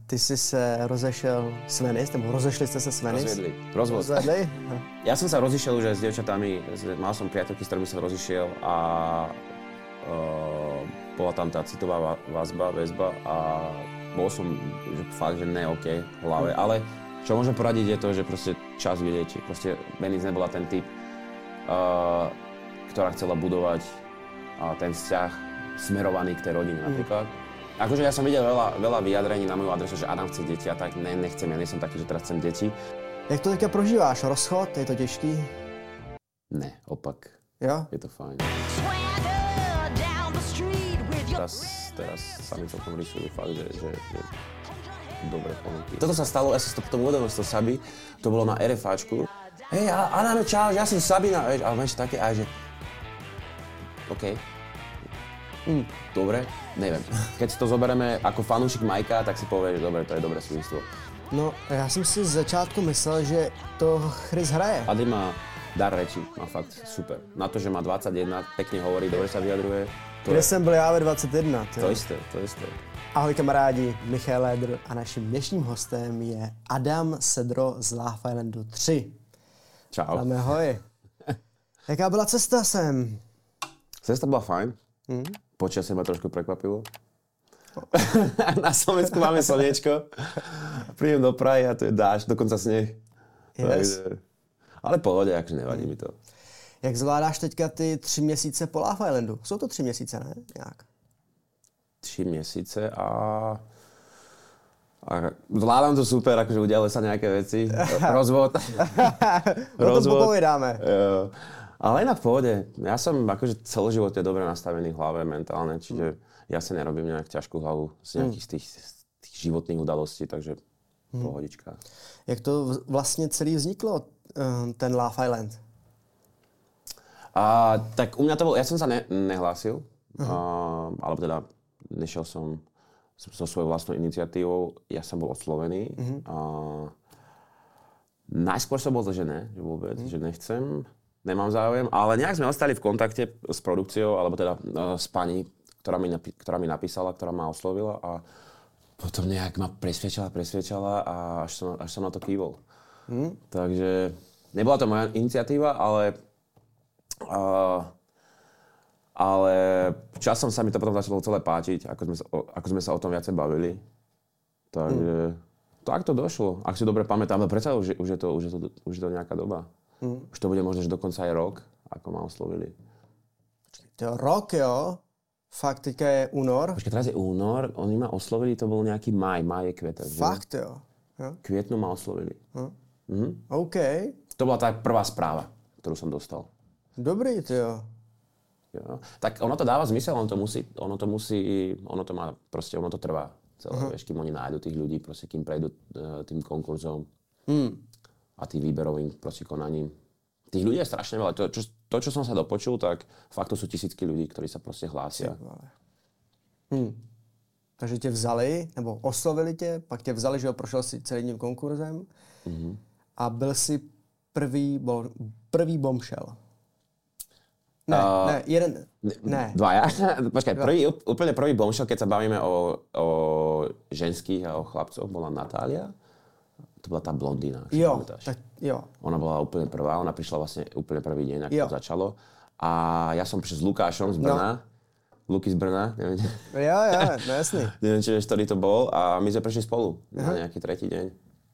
ty jsi se rozešel s Venice, nebo rozešli ste sa s Venice? Rozvedli. Ja som sa rozišiel už aj s dievčatami, mal som priateľky, s ktorými som rozišiel a bola tam tá citová väzba a bol som že fakt, že ne OK v hlave, ale čo môžem poradiť je to, že proste čas vylieči. Proste Venice nebola ten typ, ktorá chcela budovať ten vzťah smerovaný k tej rodine napríklad. Akože ja som videl veľa vyjadrení na moju adresu, že Adam chce deti a tak nechcem, ja nie som taký, že teraz chcem deti. Jak to teďka prožíváš? Rozchod? Je to těžký? Ne, opak. Jo? Je to fajn. Teraz sa mi celkom rysujú fakt, že dobre ponuky. Toto sa stalo, ja som to potom uvedomil z toho Saby, to bolo na RFAčku. Hej, Adame, čau, ja som Sabina, vieš, ale máš také aj, že OK. Dobre, neviem. Keď si to zoberieme ako fanúšik Majka, tak si povieš, že dobre, to je dobré súvislo. No, já jsem si z začátku myslel, že to Chris hraje. Ady má dar reči, má fakt super. Na to, že má 21, pekne hovorí, dobre sa vyjadruje. Kde jsem byl já ve 21? To isté. Ahoj kamarádi, Michal Lédr a naším dnešním hostem je Adam Sedro z Love Islandu 3. Čau. Adame, ahoj. Jaká byla cesta sem? Cesta bola fajn. Počasie ma trošku prekvapilo. Na Slovensku máme slniečko. Prídem do Prahy a tu je dážď, dokonca sneh. Yes. Ale pohode, akože nevadí mi to. Jak zvládáš teďka ty 3 měsíce po Love Islandu? Jsou to 3 měsíce, ne? Jak? 3 měsíce a zvládam to super, akože udiali sa nejaké veci. Rozvod. No to popovedáme. Jo. Ale inak v pohode. Ja som akože celoživotne dobre nastavený v hlave mentálne, čiže ja si nerobím nejak ťažkú hlavu z nejakých z tých životných udalostí, takže pohodička. Jak to vlastně celý vzniklo, ten Love Island? Tak u mňa to bolo, ja som sa nehlásil, alebo teda nešiel som so svojou vlastnou iniciatívou, ja som bol oslovený. Najskôr som bol to, že ne, že vôbec, že nechcem, nemám záujem, ale nejak sme ostali v kontakte s produkciou, alebo teda s pani, ktorá mi napísala, ktorá ma oslovila a potom nejak ma presviečala a až som na to kývol. Takže nebola to moja iniciatíva, ale časom sa mi to potom začalo celé páčiť, ako sme sa o tom viacej bavili. Takže tak to došlo, ak si dobre pamätám, ale predsa už je to nejaká doba. Už to bude možno, že dokonca aj rok, ako ma oslovili. To rok, jo? Fakt, teďka je únor. Počkej, teraz je únor, oni ma oslovili, to bol nejaký maj je květen. Fakt, jo? Květnu ma oslovili. OK. To bola tá prvá správa, ktorú som dostal. Dobrý, ty jo. Jo. Tak ono to dáva zmysel, ono to trvá celé, vieš, kým oni nájdu tých ľudí, proste, kým prejdú tým konkurzom a tým výberovým proste konaním. Tých ľudí je strašne veľa. To, čo som sa dopočul, tak fakt to sú tisícky ľudí, ktorí sa proste hlásia. Takže tě vzali, nebo oslovili tě, pak tě vzali, že jo, prošel si celým tím konkurzem a byl si prvý bombshell. Ne. Dvaja. Počkaj, úplne prvý bombshell, keď sa bavíme o ženských a o chlapcoch, bola Natália. To bola tá blondína, ak si pamätáš. Jo. Ona bola úplne prvá, ona prišla vlastne úplne prvý deň, ako to začalo. A ja som prišiel s Lukášom z Brna. Luky z Brna, neviem. Jo, no jasný. Neviem, či vieš, ktorý to bol. A my sme prišli spolu na nejaký tretí deň.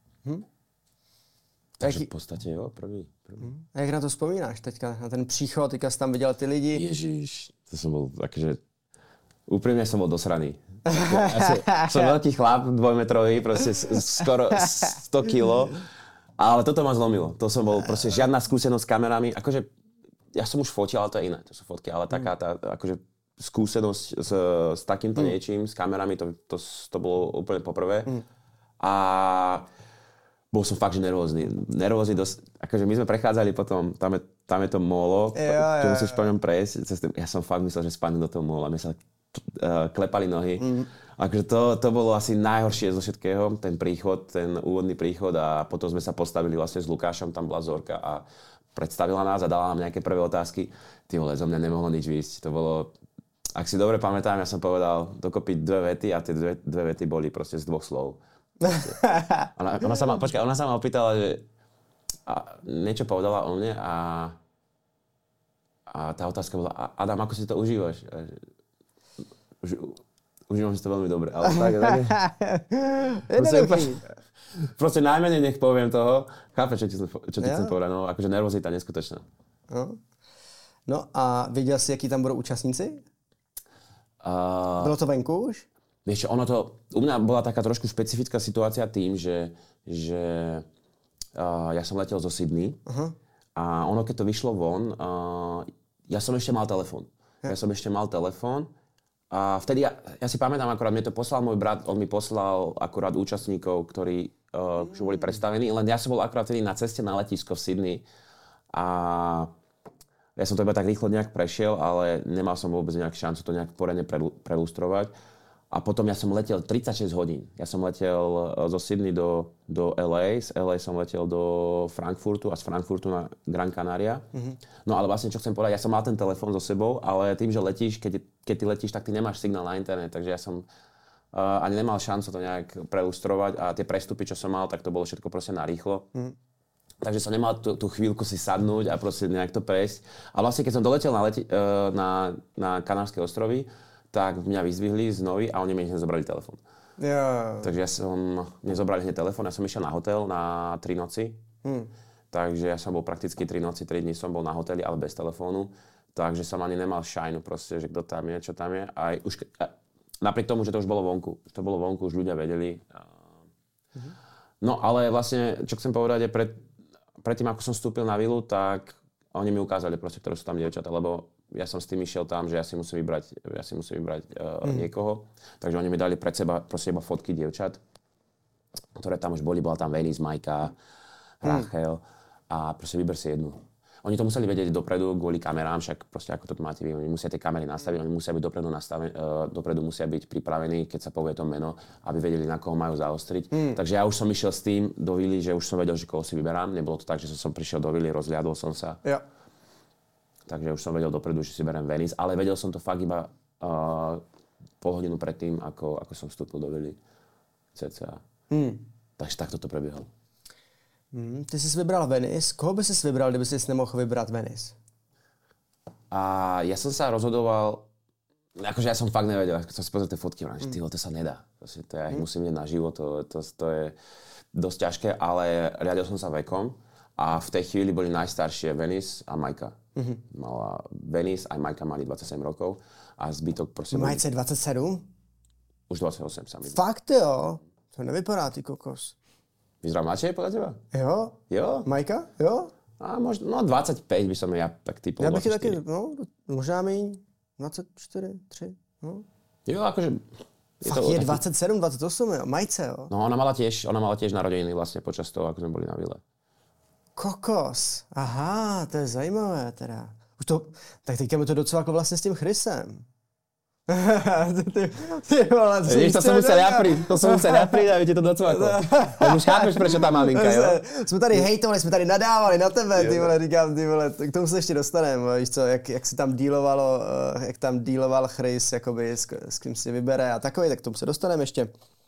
Takže v podstate, jo, prvý. A jak na to vzpomínáš teďka, na ten příchod, teďka jsi tam viděl ty lidi? Ježiš. To som bol, akože, úprimne som bol dosraný. Som veľký chlap, 2-metrový, proste skoro 100 kilo, ale toto ma zlomilo. To som bol proste žiadna skúsenosť s kamerami. Akože, ja som už fotil, ale to je iné, to sú fotky, ale taká tá, akože, skúsenosť s takýmto niečím, s kamerami, to bolo úplne poprvé. A bol som fakt, že nervózny dosť. Akože my sme prechádzali potom, tam je to molo, tu musíš po ňom prejsť. Ja som fakt myslel, že spadnem do toho mola. My sa klepali nohy. Akože to bolo asi najhoršie zo všetkého, ten príchod, ten úvodný príchod a potom sme sa postavili vlastne s Lukášom, tam bola Zorka a predstavila nás a dala nám nejaké prvé otázky. Ty vole, zo mňa nemohlo nič výjsť. To bolo, ak si dobre pamätám, ja som povedal dokopy 2 vety a tie dve vety boli proste z 2 slov. Ona sa ma opýtala, že niečo povedala o mne a tá otázka bola, Adam, ako si to užívaš? Užívam si to veľmi dobre. Ale proste najmenej nech poviem toho. Chápeš, čo ti chcem povedať? No, akože nervozita neskutočná. No a viděl jsi, jaký tam budou účastníci? Bylo to venku už? Vieš čo, u mňa bola taká trošku špecifická situácia tým, že ja som letel zo Sydney a ono, keď to vyšlo von, ja som ešte mal telefón. A vtedy, ja si pamätám, akorát mne to poslal môj brat, on mi poslal akorát účastníkov, ktorí už boli predstavení, len ja som bol akorát vtedy na ceste na letisko v Sydney a ja som to iba tak rýchlo nejak prešiel, ale nemal som vôbec nejak šancu to nejak poriadne prelustrovať. A potom ja som letel 36 hodín. Ja som letel zo Sydney do LA, z LA som letel do Frankfurtu a z Frankfurtu na Gran Canaria. No ale vlastne, čo chcem povedať, ja som mal ten telefón so sebou, ale tým, že letíš, keď ty letíš, tak ty nemáš signál na internet, takže ja som ani nemal šancu to nejak prelustrovať a tie prestupy, čo som mal, tak to bolo všetko proste narýchlo. Takže som nemal tú chvíľku si sadnúť a proste nejak to prejsť. A vlastne, keď som doletel na Kanárske ostrovy, tak mňa vyzdvihli z Novy a oni mi hneď zobrali telefón. Takže mne zobrali hneď telefón, ja som išiel na hotel na 3 noci. Takže ja som bol prakticky 3 noci, 3 dní som bol na hoteli, ale bez telefónu. Takže som ani nemal šajnu proste, že kto tam je, čo tam je. Napriek tomu, že to už bolo vonku. Už ľudia vedeli. No ale vlastne, čo chcem povedať, je predtým, ako som vstúpil na vilu, tak oni mi ukázali proste, ktoré sú tam dievčatá, lebo ja som s tým išiel tam, že ja si musím vybrať niekoho. Takže oni mi dali pred seba proste iba fotky dievčat, ktoré tam už boli. Bola tam Venice, Majka, Rachel a proste vyber si jednu. Oni to museli vedieť dopredu kvôli kamerám, však proste ako to máte vy, oni musia tie kamery nastaviť, oni musia byť dopredu musia byť pripravení, keď sa povie to meno, aby vedeli, na koho majú zaostriť. Takže ja už som išiel s tým do vily, že už som vedel, že koho si vyberám. Nebolo to tak, že som prišiel do vily, rozhliadol som sa. Ja. Takže už som vedel dopredu, že si beriem Venice, ale vedel som to fakt iba pol hodinu predtým, ako som vstúpil do vily cca. Takže takto to prebiehalo. Ty jsi vybral Venice. Koho by si vybral, kdyby si nemohl vybrat Venice? A ja som sa rozhodoval, akože ja som fakt nevedel, keď som si pozrel tie fotky, že to sa nedá. To ja ich musím vidieť naživo, to je dosť ťažké, ale riadil som sa vekom a v tej chvíli boli najstaršie Venice a Majka. Mala Venice, aj Majka mali 27 rokov a zbytok proste... Majce 27? Už 28 sa mi. Fakt jo? To nevypadá, ty kokos. Vyzerá mladšie podľa teba? Jo. Majka? Jo? A možno 25 by som ja tak typol. Ja bych je taky, možná míň. 24, 3, no. Jo, akože... Fakt je 27, 28, jo. Majce, jo. No ona mala tiež narodeniny vlastne počas toho, ako sme boli na vile. Kokos. Aha, to je zajímavé teda. Tak teďka mi to docela jako vlastně s tím Chrisem. ty vole, to som musel ja príť a viete to docvako. Už chápeš, prečo tá maminka, jo? Jsme tady hejtovali, jsme tady nadávali na tebe, ty vole, říkám, ty vole, k tomu se ještě dostaneme, víš co, jak si tam dealoval Chris, jakoby, s kým si vybere a takový, tak k tomu se dostaneme ještě.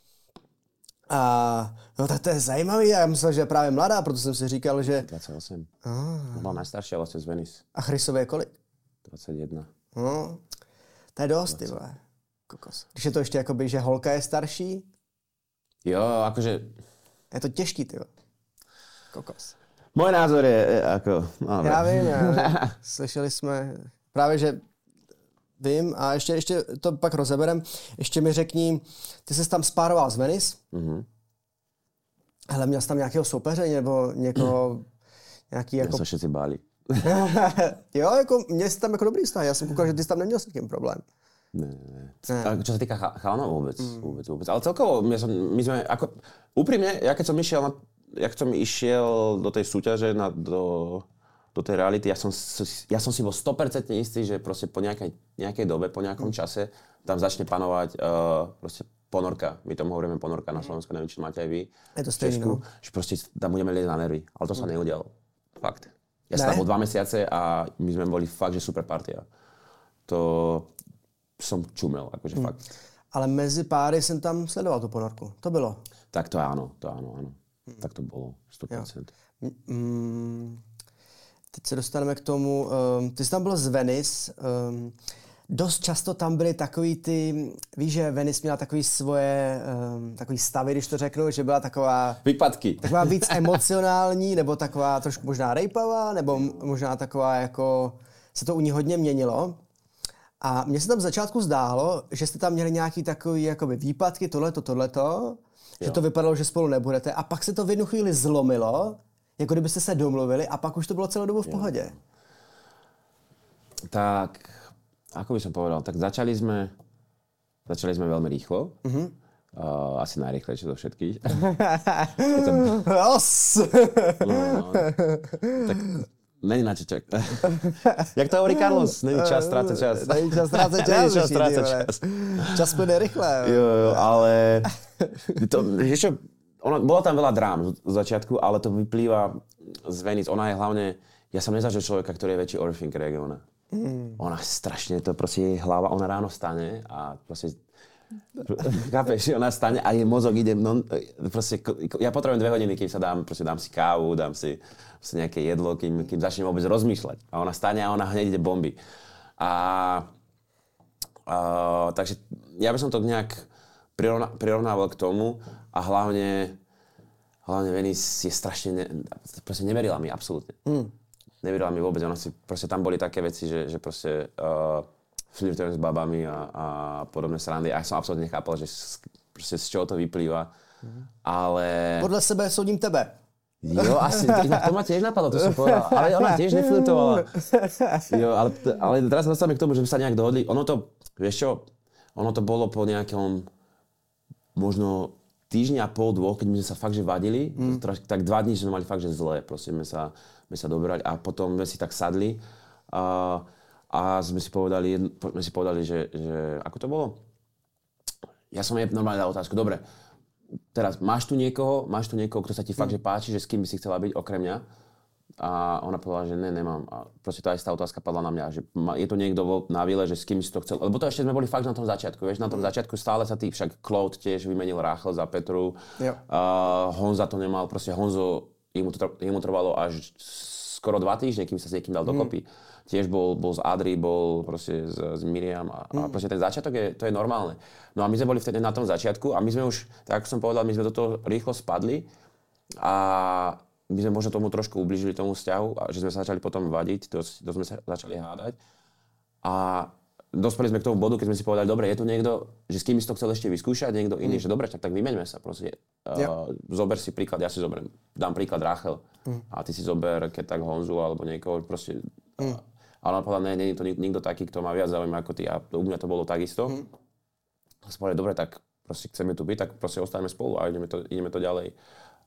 No tak to je zajímavý, já myslel, že je právě mladá, proto jsem si říkal, že... 28. Byla najstaršia vlastne z Venice. A Chrisové je kolik? 21. No, to je dost, ty vole. Kokos. Když je to ještě jakoby, že holka je starší? Jo, akože... Je to těžký, ty vole. Kokos. Môj názor je ako... No, já vím. Slyšeli jsme právě, že vím a ještě to pak rozeberem. Ještě mi řekni, ty jsi tam spároval z Venice. Hele, měl jsi tam nějakého soupeře nebo někoho... Nějaký jako... Ja sa všetci báli. Jo, jako, měl jsi tam jako dobrý vztah. Já jsem koukal, že ty jsi tam neměl s takým problém. Ne. Čo sa týka chalanov, vôbec. Ale celkovo, my sme, ako, úprimne, ja keď som išiel do tej súťaže, do tej reality, ja som si bol 100% istý, že proste po nejakej dobe, po nejakom čase, tam začne panovať proste ponorka. My tomu hovoríme ponorka na Slovensku, neviem, či máte aj vy. Je to stejné, no. Že proste tam budeme liezť na nervy. Ale to sa neudialo. Fakt. Ja som tam bol 2 mesiace a my sme boli fakt, že super partia. To som čumel, akože fakt. Ale mezi páry jsem tam sledoval tu ponorku. To bylo. Tak to áno. Tak to bolo, 100%. Teď se dostaneme k tomu, ty jsi tam byl z Venice, dost často tam byly takový ty, víš, že Venice měla takový svoje, takový stavy, když to řeknu, že byla taková... Výpadky. Taková víc emocionální, nebo taková trošku možná rejpavá, nebo možná taková jako... Se to u ní hodně měnilo. A mně se tam v začátku zdálo, že jste tam měli nějaký takový jakoby výpadky, tohleto, že to vypadalo, že spolu nebudete. A pak se to v jednu chvíli zlomilo, jako kdybyste se domluvili a pak už to bylo celou dobu v pohodě. Tak, ako by som povedal, tak začali sme veľmi rýchlo. Asi najrýchlejšie zo všetkých. Tak není na čo čak. Jak to hovorí Carlos? Není čas strácať čas. Není čas strácať čas. Čas plyne rýchle. Jo, ale bolo tam veľa drám z začiatku, ale to vyplýva z Venice. Ona je hlavne, ja som nezažil človeka, ktorý je väčší overthinker, jak je ona. Ona strašne, to proste jej hlava, ona ráno stane a proste, chápeš, ona stane a jej mozog ide, proste, ja potrebujem 2 hodiny, kým sa dám si kávu, dám si nejaké jedlo, kým začnem vôbec rozmýšľať. A ona stane a ona hneď ide bomby. Takže ja by som to nejak prirovnával k tomu a hlavne Venice je strašne, proste neverila mi absolútne. Neverila mi vôbec, ona si, proste tam boli také veci, že proste flirtujem s babami a podobné srandy a ja som absolútne nechápal, že proste z čoho to vyplýva, ale... Podľa sebe súdim tebe. Jo, asi, to ma tiež napadlo, to som povedal, ale ona tiež neflirtovala. Jo, ale teraz dostávame k tomu, že sme sa nejak dohodli, ono to, vieš čo, ono to bolo po nejakom možno týždňa a pol, 2, keď my sme sa fakt, že vadili, tak 2 dní sme mali fakt, že zlé, proste sme sa dobrali a potom sme si tak sadli a sme si povedali, že ako to bolo? Ja som jej normálne dal otázku, dobre, teraz máš tu niekoho, kto sa ti fakt, že páči, že s kým by si chcela byť okrem mňa? A ona povedala, že ne, nemám. A proste tá istá otázka padla na mňa, že je to niekto na vile, že s kým si to chcel. Lebo to ešte sme boli fakt na tom začiatku, vieš, na tom začiatku stále sa však Claude tiež vymenil Rachel za Petru. Honza to nemal, proste Honzo, jemu trvalo až skoro 2 týždne, kým sa s niekým dal dokopy. Tiež bol z Adri, bol proste s Miriam a proste ten začiatok to je normálne. No a my sme boli vtedy na tom začiatku a my sme už, tak ako som povedal, my sme do toho rýchlo spadli a my sme možno tomu trošku ublížili tomu vzťahu a že sme sa začali potom vadiť, dosť sme sa začali hádať. A dospeli sme k tomu bodu, keď sme si povedali, dobre, je tu niekto, že s kým si to chcel ešte vyskúšať, niekto iný, že dobre, tak vymeňme sa proste. Zober si príklad, ja si zoberiem, dám príklad Rachel a ty si zober, keď tak Honzu alebo niekoho proste. A ona povedala, nie je to nikto taký, kto má viac záujem ako ty a u mňa to bolo takisto. A si povedali, dobre, tak proste chceme tu byť, tak proste ostaneme spolu a ideme to ďalej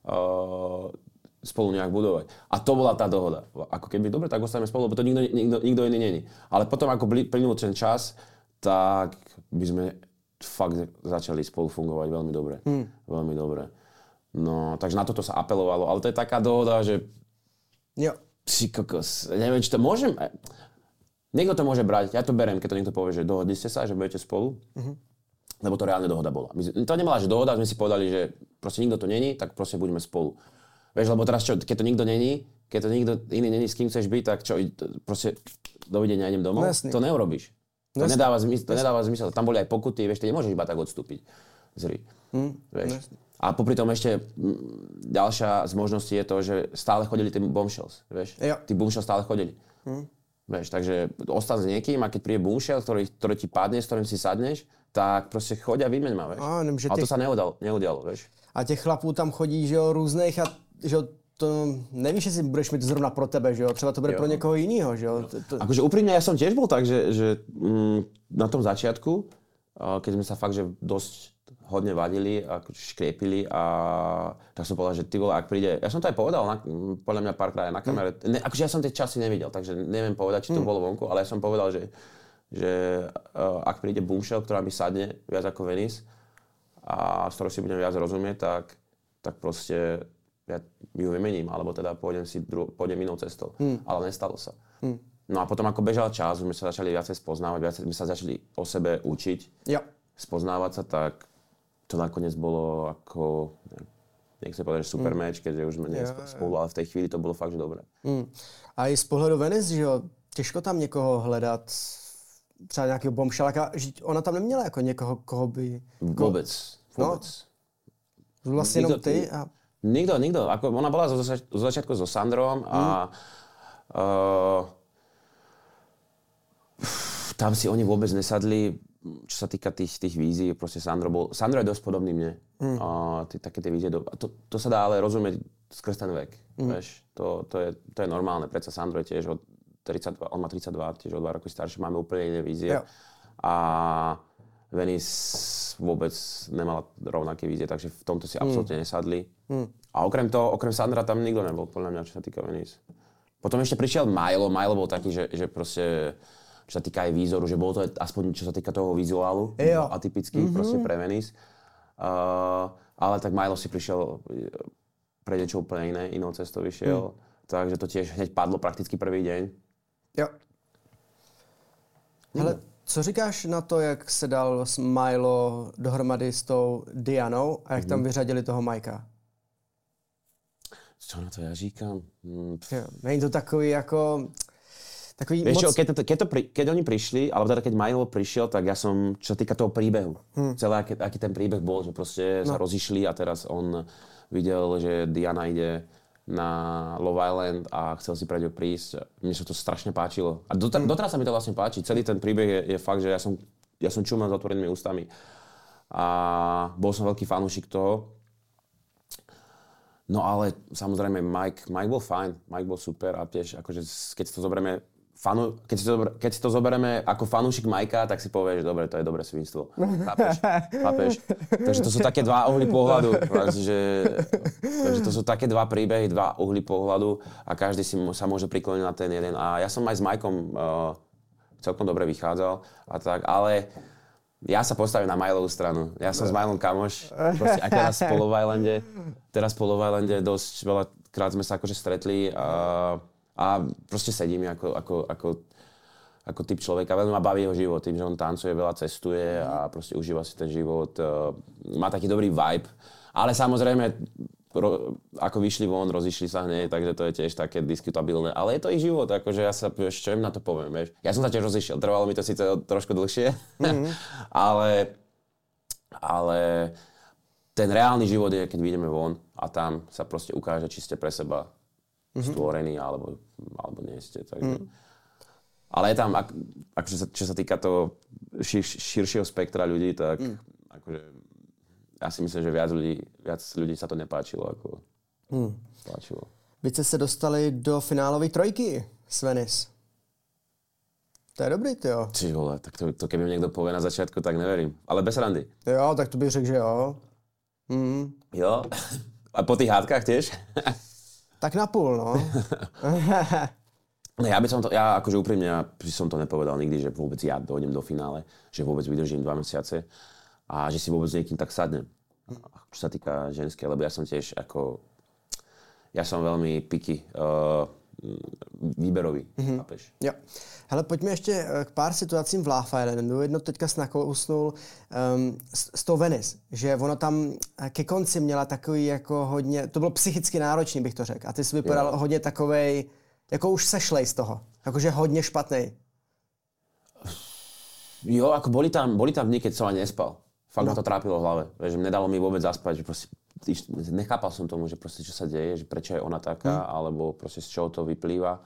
spolu nejak budovať. A to bola tá dohoda. Ako keby, dobre, tak ostaneme spolu, lebo to nikto iný není. Ale potom, ako plynul ten čas, tak by sme fakt začali spolu fungovať veľmi dobre. Veľmi dobre. No, takže na toto sa apelovalo. Ale to je taká dohoda, že... Jo. Si kokos, neviem, či to môžem... Niekto to môže brať, ja to beriem, keď to niekto povie, že dohodli ste sa, že budete spolu. Lebo to reálne dohoda bola. To nebola, že dohoda, sme si povedali, že proste nikto to není, tak proste buďme spolu. Vieš, lebo teraz čo, keď to nikto není, keď to nikto iný není, s kým chceš byť, tak čo, proste dovidenia, idem domov? Jasný. To neurobíš. To nedáva zmysel. Tam boli aj pokuty, vieš, ty nemôžeš iba tak odstúpiť z hry. Vieš. A popri tom ešte ďalšia z možností je to, že stále chodili tí bombshells, vieš. Tí bombshells stále chodili. Vieš, takže ostan s niekým a keď príde bombshell, ktorý ti padne, s ktorým si sadneš, tak proste choď a vymeň ma, vieš. A to sa neudialo, vieš. A těch chlapů tam chodí, že jo, různých a že jo, to nevíš, jestli budeš mít zrovna pro tebe, že jo, třeba to bude pro někoho jinýho, že jo. Akože úprimne, ja som tiež bol tak, že na tom začiatku, keď sme sa fakt, že dosť hodne vadili a škriepili a tak som povedal, že ty vole, ak príde, ja som to aj povedal, podľa mňa párkrát aj na kamere, akože ja som tie časy nevidel, takže neviem povedať, či to bolo vonku, ale ja som povedal, že ak príde bombshell, ktorá mi sadne viac ako Venice a s ktorou si budem viac rozumieť, tak proste ja ju vymením, alebo teda pôjdem inou cestou. Ale nestalo sa. No a potom ako bežal čas, sme sa začali viacej spoznávať, viacej sme sa začali o sebe učiť, spoznávať sa, tak to nakoniec bolo ako, nechcem povedať, že super match, keďže už sme spolu, ale v tej chvíli to bylo fakt, že dobré. A i z pohledu Venice, že jo, těžko tam někoho hledat, třeba nějakého bomšalaka, že ona tam neměla jako někoho, koho by... Vůbec. No, vlastně jenom ty a... Nikto. Ako ona bola zo začiatku so Sandrom a tam si oni vôbec nesadli, čo sa týka tých vízií. Proste Sandro je dosť podobný mne. Také tie vízie. To sa dá ale rozumieť skrz ten vek. Vieš? To je normálne. Predsa Sandro je tiež od 32, on má 32, tiež o 2 roky starší. Máme úplne iné vízie. Jo. A Venice vôbec nemala rovnaké vízie, takže v tomto si absolútne nesadli. A okrem Sandra tam nikto nebol, podľa mňa, čo sa týka Venice. Potom ešte prišiel Milo. Milo bol taký, že proste, čo sa týka aj výzoru, že bolo to aspoň, čo sa týka toho vizuálu, atypický proste pre Venice. Ale tak Milo si prišiel pre niečo úplne iné, inou cestou vyšiel. Takže to tiež hneď padlo prakticky prvý deň. Jo. Hele, co říkáš na to, jak se dal Milo dohromady s tou Dianou a jak tam vyřadili toho Mikea? Co na to já říkám? Není to takový jako... Takový vieš moc... čo, keď oni prišli, alebo teda keď Milo prišiel, tak ja som, čo sa týka toho príbehu, celé aký ten príbeh bol, že proste sa rozišli a teraz on videl, že Diana ide na Love Island a chcel si pre ňu prísť. Mne sa to strašne páčilo. A doteraz sa mi to vlastne páči. Celý ten príbeh je fakt, že ja som čumal s otvorenými ústami. A bol som veľký fanúšik toho. No ale samozrejme Mike bol fajn. Mike bol super a tiež akože keď si to zoberieme keď si to zoberieme ako fanúšik Mikea, tak si povieš, dobre, to je dobré svinstvo. Chápeš? Takže to sú také dva uhly pohľadu. Takže to sú také dva príbehy, dva uhly pohľadu a každý sa môže prikloniť na ten jeden. A ja som aj s Mikeom celkom dobre vychádzal a tak, ale ja sa postavím na Milovú stranu. Ja som s Milom kamoš, proste aj teraz po Love Islande dosť veľakrát sme sa akože stretli a proste sedím ako typ človeka. Veľmi ma baví jeho život, tým, že on tancuje, veľa cestuje a proste užíva si ten život. Má taký dobrý vibe. Ale samozrejme, ako vyšli von, rozišli sa hneď, takže to je tiež také diskutabilné. Ale je to ich život, akože ja sa, čo im na to poviem, vieš. Ja som sa tiež rozišiel, trvalo mi to síce trošku dlhšie, ale ten reálny život je, keď vyjdeme von a tam sa proste ukáže, či ste pre seba stvorení, alebo nie ste. Takže. Ale je tam, čo sa týka toho širšieho spektra ľudí, tak akože, ja si myslím, že viac ľudí sa to nepáčilo, ako páčilo. Vy ste sa dostali do finálovej trojky s Venice. To je dobrý, tyjo. Či vole, tak to keby mi niekto povie na začiatku, tak neverím. Ale bez randy. Jo, tak to bych řekl, že jo. Jo? A po tých hádkach tiež? Tak napůl, no. Ja akože úprimne, ja by som to nepovedal nikdy, že vôbec ja dojdem do finále, že vôbec vydržím 2 mesiace a že si vôbec niekým tak sadnem. Čo sa týka ženské, lebo ja som tiež ja som veľmi picky, výberový, chápeš? Jo. Hele, pojďme ještě k pár situacím v Love Islandu. Jedno teďka nakousnul s tou Venice, že ona tam ke konci měla takový jako hodně, to bylo psychicky náročný, bych to řekl. A ty jsi vypadal hodně takovej, jako už sešlej z toho. Jakože hodně špatnej. Jo, ako boli tam dny, keď som ani nespal. Fakt ma to trápilo v hlave. Že nedalo mi vôbec zaspať, že proste nechápal som tomu, že proste čo sa deje, že prečo je ona taká, alebo proste z čoho to vyplýva.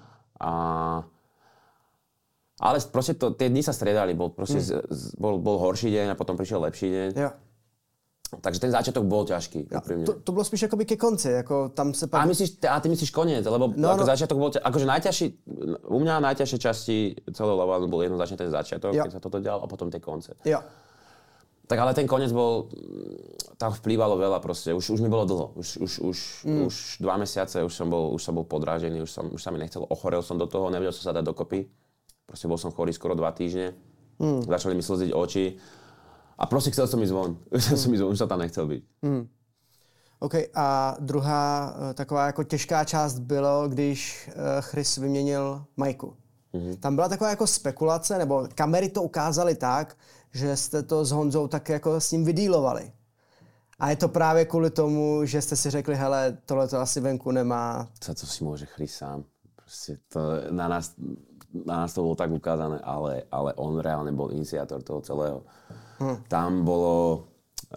Ale proste tie dni sa striedali, bol horší deň a potom prišiel lepší deň. Jo. Takže ten začiatok bol ťažký, úprimne. To bylo spíš jakoby ke konci, jako tam se pak... A ty myslíš koniec, lebo začiatok bol akože najťažší, u mňa najťažšie časti celého Love Islandu bol jednoznačne ten začiatok, keď sa toto dialo, a potom tie konce. Jo. Tak ale ten koniec bol, tam vplývalo veľa proste, už mi bolo dlho, už 2 mesiace, už som bol podrážený, už sa mi nechcelo, ochorel som do toho, nevedel som sa dať dokopy, proste bol som chorý skoro 2 týždne, začali mi slziť oči a proste chcel som ísť von, už sa tam nechcel byť. OK, a druhá taková jako těžká část bylo, když Chris vyměnil Majku. Tam byla taková jako spekulace, nebo kamery to ukázaly tak, že jste to s Honzou tak jako s ním vydýlovali. A je to právě kvůli tomu, že jste si řekli, hele, tohle to asi venku nemá. Co to si môže Chris sám. Proste to na nás to bolo tak ukázané, ale on reálne bol iniciátor toho celého. Tam bolo...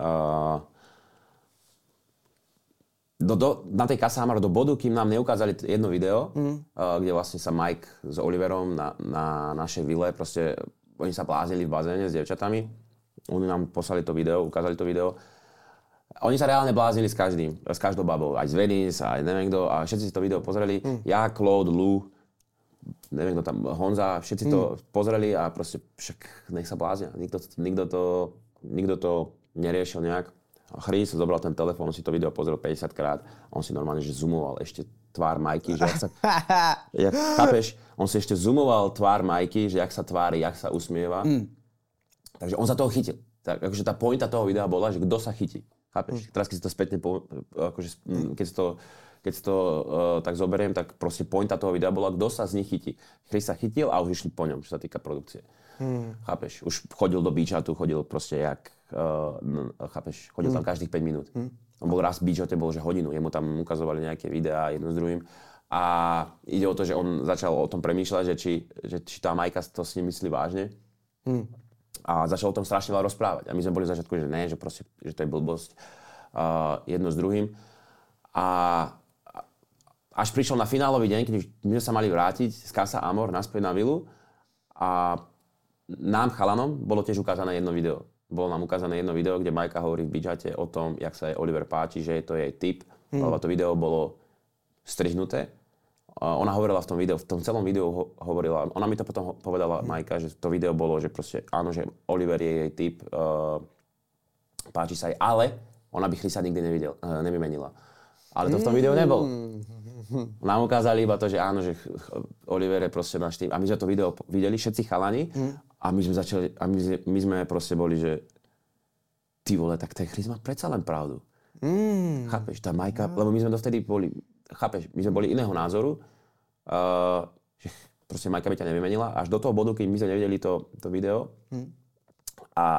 na tej Casa Amor do bodu, kým nám neukázali jedno video, kde vlastne sa Mike s Oliverom na našej vile, proste oni sa bláznili v bazéne s dievčatami. Oni nám poslali to video, ukázali to video. Oni sa reálne bláznili s každou babou, aj z Venice, aj neviem kto, a všetci si to video pozreli. Ja, Claude, Lou, neviem kto tam, Honza, všetci to pozreli a proste však nech sa bláznia. Nikto to neriešil nejak. A Chris zobral ten telefón, on si to video pozrel 50 krát, on si normálne že zoomoval ešte tvár Majky, že chápeš? On si ešte zoomoval tvár Majky, že jak sa tvári, jak sa usmieva. Takže on sa toho chytil. Tak, akože tá pointa toho videa bola, že kto sa chytí. Chápeš? Teraz keď si to spätne, akože, keď si to tak zoberiem, tak proste pointa toho videa bola, kto sa z nich chytí. Chris sa chytil a už išli po ňom, čo sa týka produkcie. Chápeš? Už chodil do beachatu, chodil proste jak, chápeš? Chodil tam každých 5 minút. On bol raz v beachate, bol že hodinu, jemu tam ukazovali nejaké videá jedno s druhým. A ide o to, že on začal o tom premýšľať, že či tá Majka to s ním myslí vážne. A začal o tom strašne veľa rozprávať. A my sme boli v začiatku, že ne, že proste, že to je blbosť jedno s druhým. A až prišiel na finálový deň, keď my sme sa mali vrátiť z Casa Amor naspäť na vilu a nám chalanom bolo tiež ukázané jedno video. Bolo nám ukázané jedno video, kde Majka hovorí v beachate o tom, jak sa jej Oliver páči, že to je jej typ, lebo to video bolo strihnuté. Ona hovorila v tom videu, v tom celom videu hovorila, ona mi to potom povedala Majka, že to video bolo, že proste áno, že Oliver je jej typ, páči sa jej, ale ona by Chrisa nikdy nevymenila. Ale to v tom videu nebolo. Nám ukázali iba to, že áno, že Oliver je proste náš typ. A my sme to video videli, všetci chalani, a my sme začali, a my sme proste boli, že ty vole, tak ten Chris má predsa len pravdu. Chápeš, tá Majka, lebo my sme dovtedy boli, chápeš, my sme boli iného názoru, že proste Majka by ťa nevymenila, až do toho bodu, keď my sme nevideli to video. A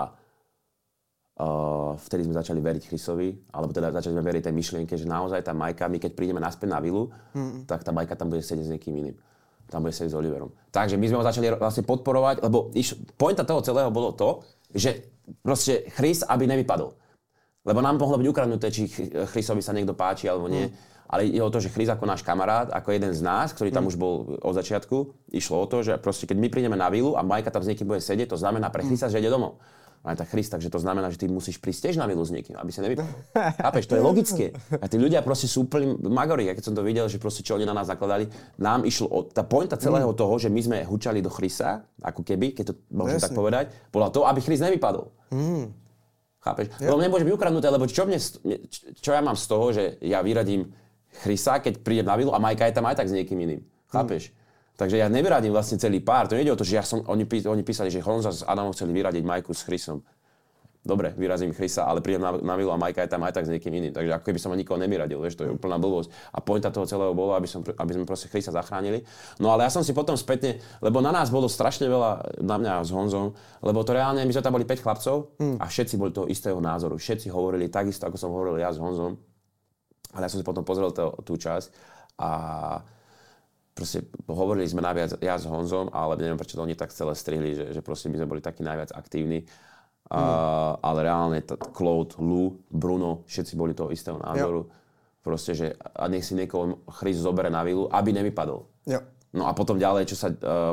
vtedy sme začali veriť Chrisovi, alebo teda začali sme veriť tej myšlienke, že naozaj tá Majka, my keď prídeme naspäť na vilu, tak tá Majka tam bude sedieť s niekým iným. Tam bude sedieť s Oliverom. Takže my sme ho začali vlastne podporovať, lebo pointa toho celého bolo to, že proste Chris, aby nevypadol. Lebo nám mohlo byť ukradnuté, či Chrisovi sa niekto páči alebo nie. Ale je o to, že Chris ako náš kamarát, ako jeden z nás, ktorý tam už bol od začiatku, išlo o to, že proste keď my prídeme na vilu a Majka tam s niekým bude sedieť, to znamená pre Chrisa, že ide domov. Ale tak Chris, takže to znamená, že ty musíš prísť tiež na vilu s niekým, aby sa nevypadol. Chápeš, to je logické. A tí ľudia proste sú úplní magori. A keď som to videl, že proste čo oni na nás nakladali, nám išlo tá pointa celého toho, že my sme hučali do Chrisa, ako keby, keď to môžem tak povedať, bola to, aby Chris nevypadol. Chápeš? Lebo mne môže byť ukradnuté, lebo čo ja mám z toho, že ja vyradím Chrisa, keď prídem na vilu a Majka je tam aj tak s niekým iným. Chápeš? Takže ja nevyradím vlastne celý pár. To nejde o to, že oni písali, že Honza s Adamom chceli vyradiť Majku s Chrisom. Dobre, vyrazím Chrisa, ale prídem na vilu a Majka je tam aj tak s niekým iným. Takže ako keby som nikoho nevyradil, vieš, to je úplná blbosť. A pointa toho celého bolo, aby sme proste Chrisa zachránili. No ale ja som si potom spätne, lebo na nás bolo strašne veľa, na mňa s Honzom, lebo to reálne, my sme tam boli 5 chlapcov a všetci boli toho istého názoru. Všetci hovorili takisto, ako som hovoril ja s Honzom. Ale ja som si potom pozrel tú časť a proste hovorili sme najviac ja s Honzom, ale neviem, prečo to oni tak celé strihli, že proste my sme boli takí najviac aktívni. Ale reálne Claude, Lou, Bruno, všetci boli toho istého názoru. Proste, že a nech si niekoho Chris zobere na vilu, aby nevypadol. Jo. No a potom ďalej, čo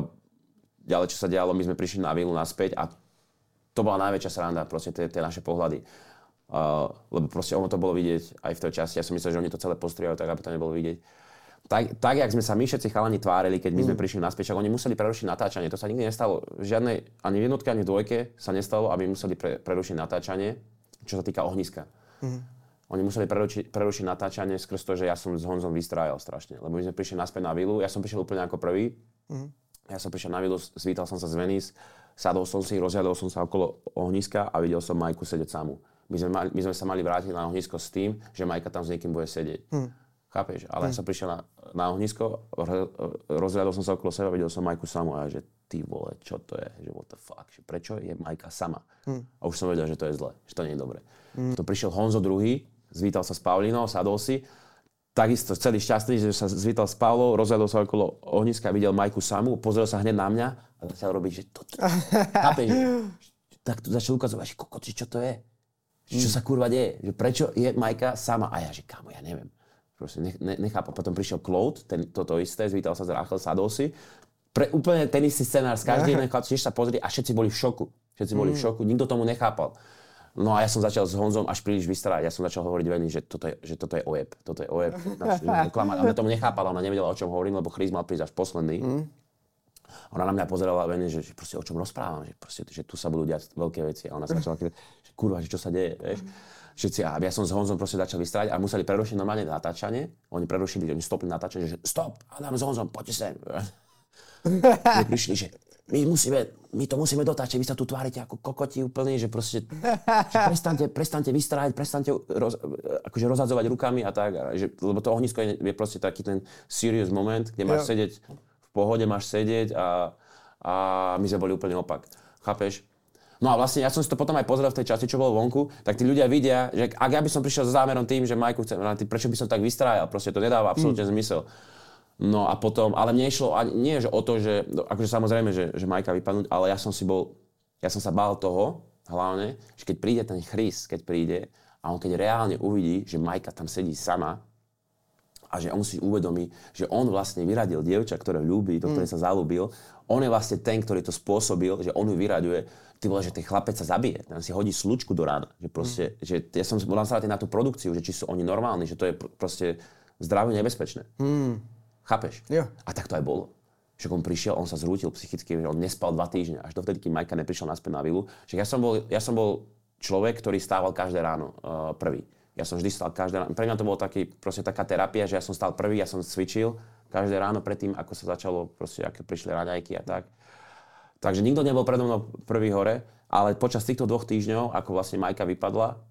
sa dialo, my sme prišli na vilu naspäť a to bola najväčšia sranda, proste tie naše pohľady. Lebo proste ono to bolo vidieť aj v tej časti. Ja som myslel, že oni to celé postrihajú tak, aby to nebolo vidieť. Tak, jak sme sa my všetci chalani tvárili, keď my sme prišli naspäť, oni museli prerušiť natáčanie. To sa nikdy nestalo. Ani v jednotke, ani v dvojke sa nestalo, aby museli prerušiť natáčanie, čo sa týka ohniska. Oni museli prerušiť natáčanie skrz to, že ja som s Honzom vystrájal strašne. Lebo my sme prišli naspäť na vilu, ja som prišiel úplne ako prvý. Ja som prišiel na vilu, zvítal som sa z Venice, sadol som si, rozhľadol som sa okolo ohniska a videl som Majku sedieť samú. My sme sa mali vrátiť na ohnisko s tým, že Majka tam s niekým bude sedieť. Chápeš? Ale ja som prišiel na ohnisko, rozhľadol som sa okolo seba, videl som Majku samu a ja, že ty vole, čo to je? Že what the fuck? Že prečo je Majka sama? A už som vedel, že to je zle, že to nie je dobre. Potom prišiel Honzo druhý, zvítal sa s Paulinou, sadol si, takisto celý šťastný, že sa zvítal s Paulou, rozhľadol sa okolo ohniska, videl Majku samu, pozrel sa hneď na mňa a začal robiť, že toto. Chápeš? Tak tu začal ukazovať, že kokoci, čo to je? Čo sa kurva deje? Že prečo je Majka sama? A ja, že kámo, ja neviem. Proste nechápam. Potom prišiel Claude, toto isté, zvítal sa z Rachel, sadol si. Úplne ten istý scenár z každý jeden chlap, tiež sa pozreli a všetci boli v šoku. Nikto tomu nechápal. No a ja som začal s Honzom až príliš vystrávať. Ja som začal hovoriť Veni, že toto je ojeb. Toto je ojeb. Ona tomu nechápala, ona nevedela, o čom hovorím, lebo Chris mal prísť až posledný. Ona na mňa pozerala Veni, že proste o čom rozprávam, že tu sa budú diať veľké veci. A ona sa začala že kurva, že čo sa deje, vieš. Všetci, a ja som s Honzom proste začal vystrávať a museli prerušiť normálne natáčanie. Oni stopli natáčanie, že stop, Adam s Honzom, poďte sem. Prišli, že my to musíme dotáčať, vy sa tu tvárite ako kokoti úplne, že proste že prestaňte vystrávať, prestaňte akože rozhadzovať rukami a tak, lebo to ohnisko je proste taký ten serious moment, kde máš sedieť v pohode, máš sedieť a my sme boli úplne opak. Chápeš? No a vlastne ja som si to potom aj pozrel v tej časti, čo bolo vonku, tak tí ľudia vidia, že ak ja by som prišiel so zámerom tým, že Majku chcem, prečo by som tak vystrájal, proste to nedáva absolútne zmysel. No a potom, ale mne išlo nie že o to, že akože samozrejme, že Majka vypadnúť, ale ja som sa bál toho, hlavne, že keď príde ten Chris, keď príde a on keď reálne uvidí, že Majka tam sedí sama a že on si uvedomí, že on vlastne vyradil dievča, ktoré ľúbi, do ktorej sa zalúbil, on je vlastne ten, ktorý to spôsobil, že on ju vyraďuje. Ty vole, že ten chlapec sa zabije, ten si hodí slučku do rána. Že proste, že ja som bol nastavený na tú produkciu, že či sú oni normálni, že to je proste zdraviu nebezpečné. Chápeš? Jo. A tak to aj bolo. Že on prišiel, on sa zrútil psychicky, on nespal 2 týždne, až dovtedy, kým Majka neprišiel naspäť na vilu. Že ja som bol človek, ktorý stával každé ráno prvý. Ja som vždy stál každé ráno. Pre mňa to bolo taká terapia, že ja som stál prvý, ja som cvičil každé ráno predtým, ako sa začalo, proste, ako prišli raňajky a tak. Takže nikto nebol predo mnou prvý hore, ale počas týchto 2 týždňov, ako vlastne Majka vypadla,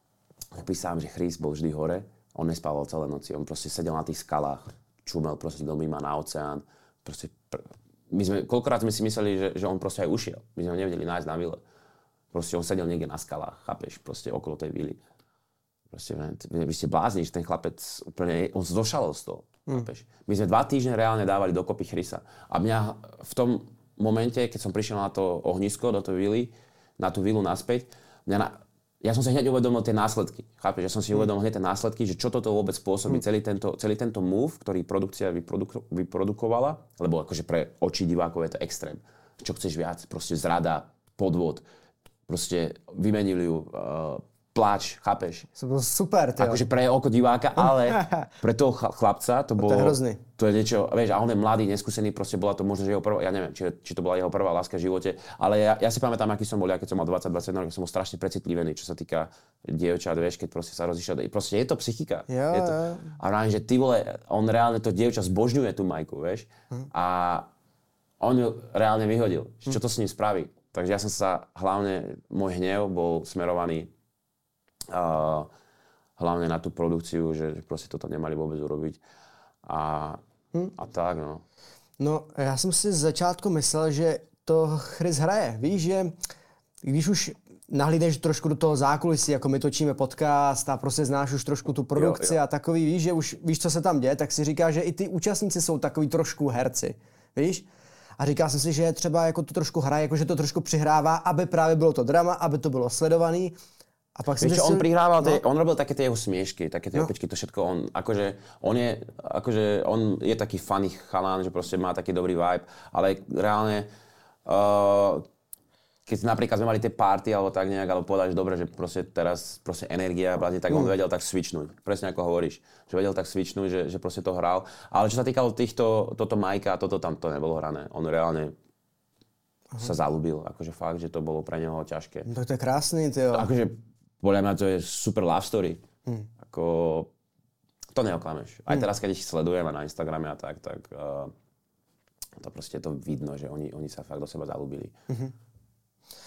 písam, že Chris bol vždy hore, on nespával celé noci, on proste sedel na tých skalách, čumel proste do mimo na oceán. Proste, koľkokrát sme si mysleli, že on proste aj ušiel. My sme ho nevedeli nájsť na vile. Proste on sedel niekde na skalách, chápeš, proste okolo tej vily. Proste, vy ste blázni, že ten chlapec úplne, on zošalol z toho, chápeš. My sme 2 týždne reálne dávali dokopy Chrisa. A mňa v tom momente, keď som prišiel na to ohnisko, do tej vily, na tú vilu naspäť, ja som si hneď uvedomil tie následky. Chápeš? Ja som si uvedomil hneď tie následky, že čo toto vôbec spôsobí, celý tento move, ktorý produkcia vyprodukovala, lebo akože pre oči divákov je to extrém. Čo chceš viac? Proste zrada, podvod, proste vymenili ju, pláč, chápeš? To bolo super, tyjo. Akože pre oko diváka, ale pre toho chlapca to bolo... To je hrozný. To je niečo, vieš, a on je mladý, neskúsený, proste bola to možno, že jeho prvá, ja neviem, či to bola jeho prvá láska v živote, ale ja si pamätám, aký som bol, keď som mal 20-21 rokov, som bol strašne precitlivený, čo sa týka dievčat, vieš, keď proste sa rozišiel. Proste je to psychika. Jo. A vrajím, že ty vole, on reálne to dievča zbožňuje tú Majku, vieš, a on ju reálne vyhodil. Čo to s ním spraví? Takže ja som sa, hlavne môj hnev bol smerovaný hlavne na tú produkciu, že proste toto nemali vôbec urobiť. A tak, no. No, já jsem si z začátku myslel, že to Chris hraje. Víš, že když už nahlídneš trošku do toho zákulisí, jako my točíme podcast a prostě znáš už trošku tu produkci jo. A takový, víš, že už víš, co se tam děje, tak si říká, že i ty účastníci jsou takový trošku herci. Víš? A říkal jsem si, že třeba jako to trošku hraje, jako že to trošku přihrává, aby právě bylo to drama, aby to bylo sledovaný. A pak vieš, on prihrával, on robil také tie jeho smiešky, také tie opičky, to všetko, on je taký funny chalán, že proste má taký dobrý vibe, ale reálne, keď napríklad sme mali tie party alebo tak nejak, alebo povedali, že dobre, že proste teraz proste energia, tak on vedel tak switchnúť, presne ako hovoríš, že vedel tak switchnúť, že proste to hral, ale čo sa týkalo toto Majka, toto tam to nebolo hrané, on reálne sa zalúbil, akože fakt, že to bolo pre neho ťažké. No to je krásny, tyjo. Akože podľa mňa to je super love story. Ako, to neoklameš. Aj teraz, keď ich sledujem na Instagrame a tak to proste to vidno, že oni sa fakt do seba zalúbili.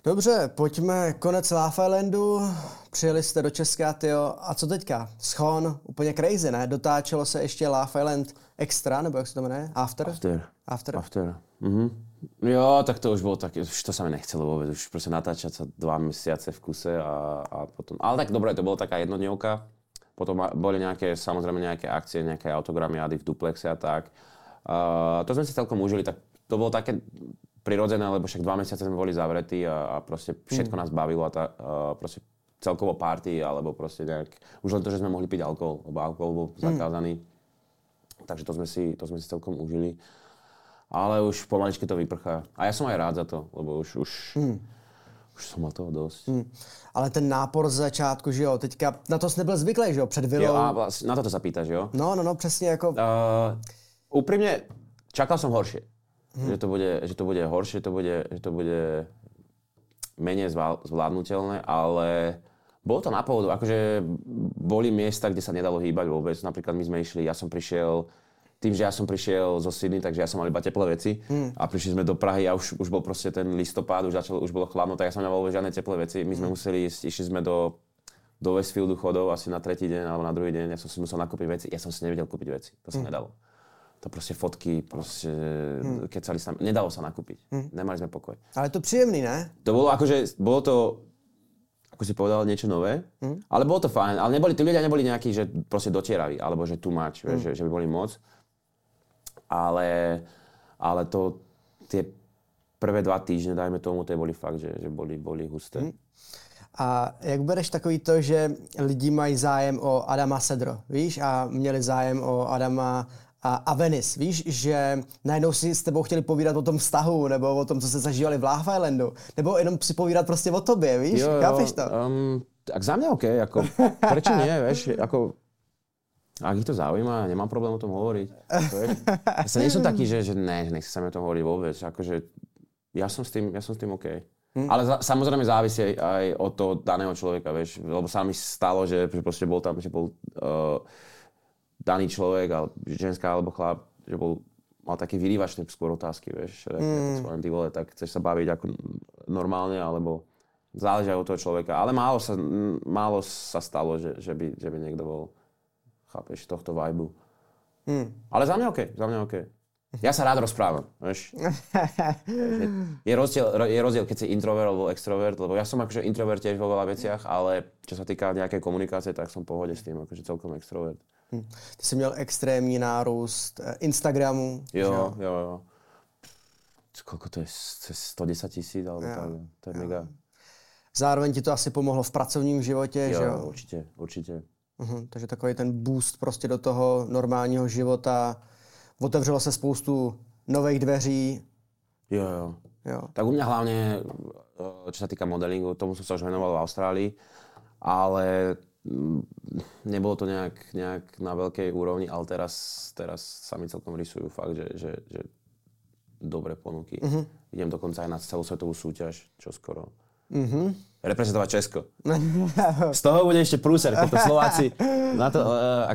Dobře, pojďme konec Love Islandu. Přijeli jste do Česka, tyjo. A co teďka? Schon, úplně crazy, ne? Dotáčelo se ještě Love Island Extra, nebo jak se to jmenuje? After. Jo, tak to už bolo také, už to sa mi nechcelo vôbec, už proste natáčať sa 2 mesiace v kuse a potom, ale tak dobre, to bola taká jednodňovka, potom boli samozrejme nejaké akcie, nejaké autogramiády v duplexe a tak. To sme si celkom užili, tak to bolo také prirodzené, lebo však 2 mesiace sme boli zavretí a proste všetko nás bavilo a proste celkovo party, alebo proste nejak, už len to, že sme mohli piť alkohol, lebo alkohol bol zakázaný, takže to sme si celkom užili. Ale už pomaličky to vyprchá. A ja som aj rád za to, lebo už som mal toho dosť. Ale ten nápor z začátku, že jo, teďka na to jsi nebyl zvyklý, že jo, před vilou. Jo, na to sa pýtaš, jo? No, přesně jako... Úprimne, čakal som horšie. Že to bude horšie, že to bude menej zvládnutelné, ale bolo to na pohodu. Akože boli miesta, kde sa nedalo hýbať vôbec. Napríklad my sme išli, tým, že ja som prišiel zo Sydney, takže ja som mal iba teplé veci a prišli sme do Prahy a už bol proste ten listopad, už bolo chladno, tak ja som nemal vôbec žiadne teplé veci. My sme išli sme do Westfieldu chodov asi na tretí deň alebo na druhý deň, ja som si musel nakúpiť veci, ja som si nevedel kúpiť veci, to sa nedalo. To proste fotky, kecali sa, nedalo sa nakúpiť, nemali sme pokoj. Ale to príjemný, ne? To bolo to, ako si povedal, niečo nové, ale bolo to fajn, ale tí ľudia neboli nejakí, že proste dotieraví, alebo že too much, že by boli moc. Ale tie prvé 2 týždne, dajme tomu, to boli fakt, že boli husté. A jak bereš takový to, že lidi mají zájem o Adama Sedro, víš, a měli zájem o Adama a Venice, víš, že najednou si s tebou chtěli povídat o tom vztahu, nebo o tom, co se zažívali v Love Islandu, nebo jenom si povídat prostě o tobě, víš, chápeš to? Tak za mňa OK, ako, prečo nie, vieš, ako... Ak ich to zaujíma, nemám problém o tom hovoriť. Ja sa nie som taký, že nechci sa mi o tom hovoriť vôbec. Akože, ja som s tým OK. Ale samozrejme závisí aj od toho daného človeka, vieš. Lebo sa mi stalo, že proste bol tam, že bol daný človek, ale ženská alebo chlap, že mal taký vyrývačné skôr otázky, vieš. Ty vole, tak chceš sa baviť ako normálne, alebo záleží aj od toho človeka. Ale málo sa stalo, že by niekto bol, chápeš, tohto vibu. Ale za mňa OK. Ja sa rád rozprávam, vieš. Je rozdiel, keď si introvert alebo extrovert, lebo ja som akože introvert tiež vo veľa veciach, ale čo sa týka nejakej komunikácie, tak som v pohode s tým, akože celkom extrovert. Ty jsi měl extrémní nárůst Instagramu. Jo. Koľko to je? 110 000 alebo tak, to je mega. Zároveň ti to asi pomohlo v pracovním životě, že jo? Určitě. Takže takový ten boost prostě do toho normálního života. Otevřelo se spoustu nových dveří. Jo. Tak u mňa hlavne, čo sa týka modelingu, tomu som sa už venoval v Austrálii, ale nebolo to nejak na veľkej úrovni, ale teraz sa mi celkom rysujú fakt, že dobré ponuky. Idem dokonca aj na celosvetovú súťaž, čo skoro. Reprezentovať Česko. Z toho bude ešte prúser, keď to Slováci na to,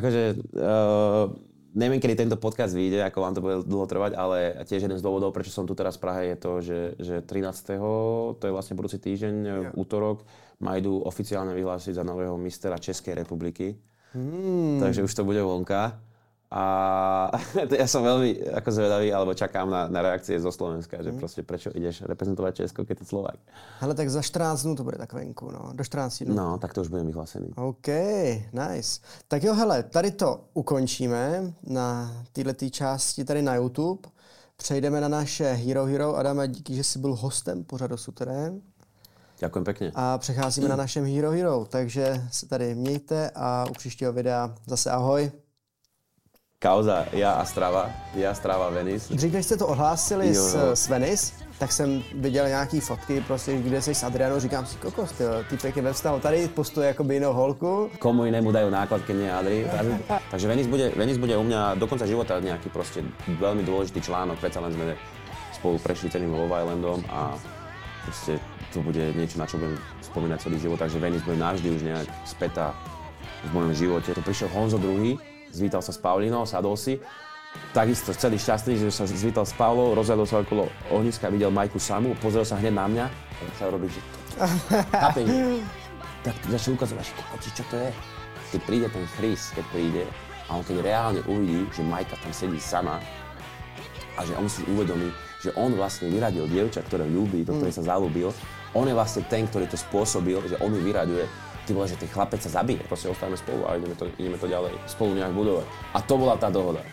neviem, kedy tento podcast vyjde, ako vám to bude dlho trvať, ale tiež jeden z dôvodov, prečo som tu teraz v Prahe, je to, že 13. to je vlastne budúci týždeň, v útorok, ma idú oficiálne vyhlásiť za nového mistera Českej republiky. Takže už to bude vonka. A ja som veľmi zvedavý, alebo čakám na reakcie zo Slovenska, že proste prečo ideš reprezentovať Česko, keď je Slovák. Hele, tak za 14 dnů to bude tak venku, no. Do 14 dnů. No, tak to už budem vyhlásený. OK, nice. Tak jo, hele, tady to ukončíme na této části tady na YouTube. Přejdeme na naše Hero. Adame, díky, že jsi byl hostem pořadu Suterén. Ďakujem pekne. A přecházíme na našem Hero. Takže se tady mějte a u příštího videa zase ahoj. Kauza, ja a Strava Venice. Dřív, než jste to ohlásili s Venice, tak jsem viděl nějaký fotky, prostě, kde jsi s Adrianou, říkám si, kokos, týpek je ve vztahu, tady postuje jakoby jinou holku. Komu inému dajú náklad, keď nie Adri. Takže Venice bude u mňa do konca života nejaký proste veľmi dôležitý článok, predsa len sme spolu prešli celým Love Islandom a proste to bude niečo, na čo budem spomínať celý život, takže Venice bude navždy už nejak spätá v mojom živote. Tu prišiel Honzo II, zvítal sa s Paulinou, sadol si. Takisto celý šťastný, že sa zvítal s Paulou, rozhľadol sa okolo ohniska, videl Majku samú, pozrel sa hneď na mňa začal robiť, že chápeš, tak začal ukazovať, že čo to je. Keď príde ten Chris, a on keď reálne uvidí, že Majka tam sedí sama a že on si uvedomí, že on vlastne vyradil dievča, ktoré ľúbi, do ktorej sa zalúbil, on je vlastne ten, ktorý to spôsobil, že on ju vyraďuje. Ty vole, že ten chlapec sa zabije, proste ostávame spolu a ideme to ďalej spolu nejak budovať. A to bola tá dohoda.